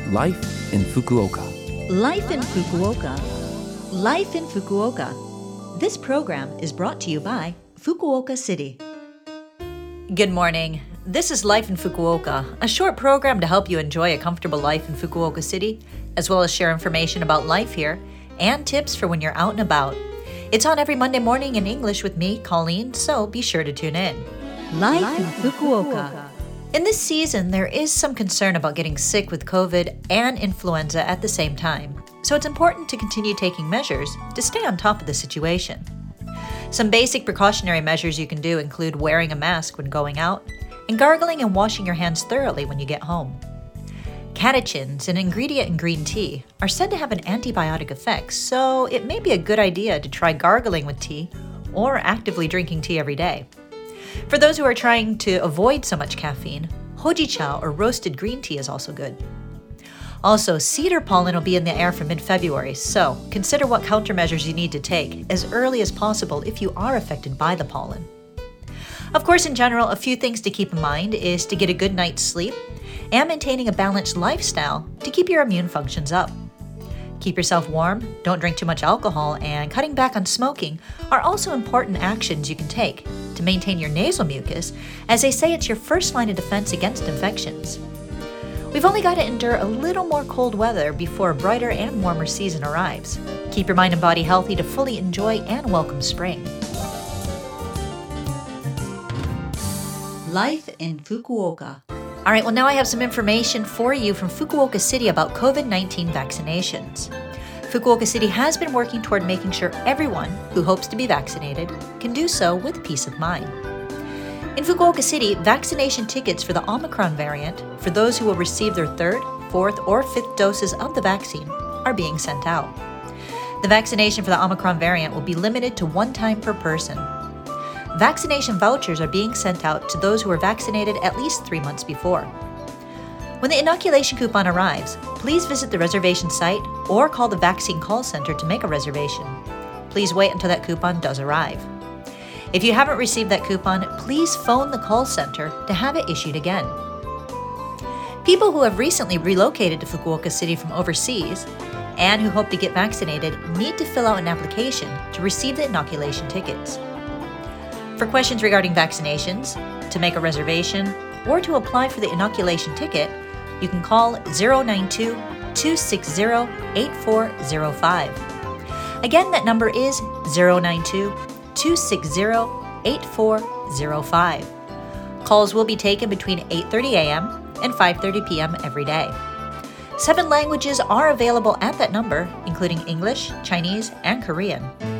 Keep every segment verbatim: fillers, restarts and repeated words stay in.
Life in Fukuoka. Life in Fukuoka. Life in Fukuoka. This program is brought to you by Fukuoka City. Good morning. This is Life in Fukuoka, a short program to help you enjoy a comfortable life in Fukuoka City, as well as share information about life here and tips for when you're out and about. It's on every Monday morning in English with me, Colleen, so be sure to tune in. Life, Life in Fukuoka. Fukuoka. In this season, there is some concern about getting sick with COVID and influenza at the same time, so it's important to continue taking measures to stay on top of the situation. Some basic precautionary measures you can do include wearing a mask when going out and gargling and washing your hands thoroughly when you get home. Catechins, an ingredient in green tea, are said to have an antibiotic effect, so it may be a good idea to try gargling with tea or actively drinking tea every day. For those who are trying to avoid so much caffeine, hojicha or roasted green tea is also good. Also, cedar pollen will be in the air from mid-February, so consider what countermeasures you need to take as early as possible if you are affected by the pollen. Of course, in general, a few things to keep in mind is to get a good night's sleep and maintaining a balanced lifestyle to keep your immune functions up. Keep yourself warm, don't drink too much alcohol, and cutting back on smoking are also important actions you can take to maintain your nasal mucus, as they say it's your first line of defense against infections. We've only got to endure a little more cold weather before a brighter and warmer season arrives. Keep your mind and body healthy to fully enjoy and welcome spring. Life in Fukuoka. All right, well, now I have some information for you from Fukuoka City about COVID nineteen vaccinations. Fukuoka City has been working toward making sure everyone who hopes to be vaccinated can do so with peace of mind. In Fukuoka City, vaccination tickets for the Omicron variant for those who will receive their third, fourth, or fifth doses of the vaccine are being sent out. The vaccination for the Omicron variant will be limited to one time per person. Vaccination vouchers are being sent out to those who were vaccinated at least three months before. When the inoculation coupon arrives, please visit the reservation site or call the vaccine call center to make a reservation. Please wait until that coupon does arrive. If you haven't received that coupon, please phone the call center to have it issued again. People who have recently relocated to Fukuoka City from overseas and who hope to get vaccinated need to fill out an application to receive the inoculation tickets. For questions regarding vaccinations, to make a reservation, or to apply for the inoculation ticket, you can call zero nine two, two six zero, eight four zero five. Again, that number is zero nine two, two six zero, eight four zero five. Calls will be taken between eight thirty a.m. and five thirty p.m. every day. Seven languages are available at that number, including English, Chinese, and Korean.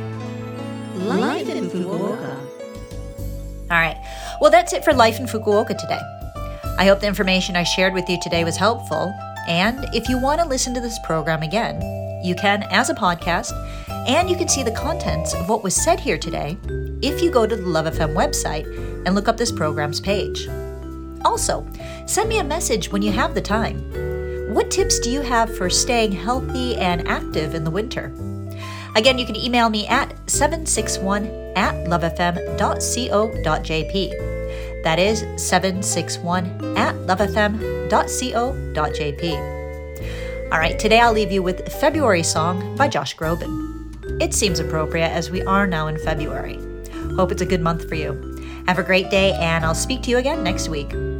Life in Fukuoka. All right, well, that's it for Life in Fukuoka today. I hope the information I shared with you today was helpful, and if you want to listen to this program again, you can as a podcast, and you can see the contents of what was said here today if you go to the Love F M website and look up this program's page. Also, send me a message when you have the time. What tips do you have for staying healthy and active in the winter? Again, you can email me at seven six one at lovefm dot co dot jp. That is seven six one at lovefm dot co dot jp. All right, today I'll leave you with February Song by Josh Groban. It seems appropriate as we are now in February. Hope it's a good month for you. Have a great day, and I'll speak to you again next week.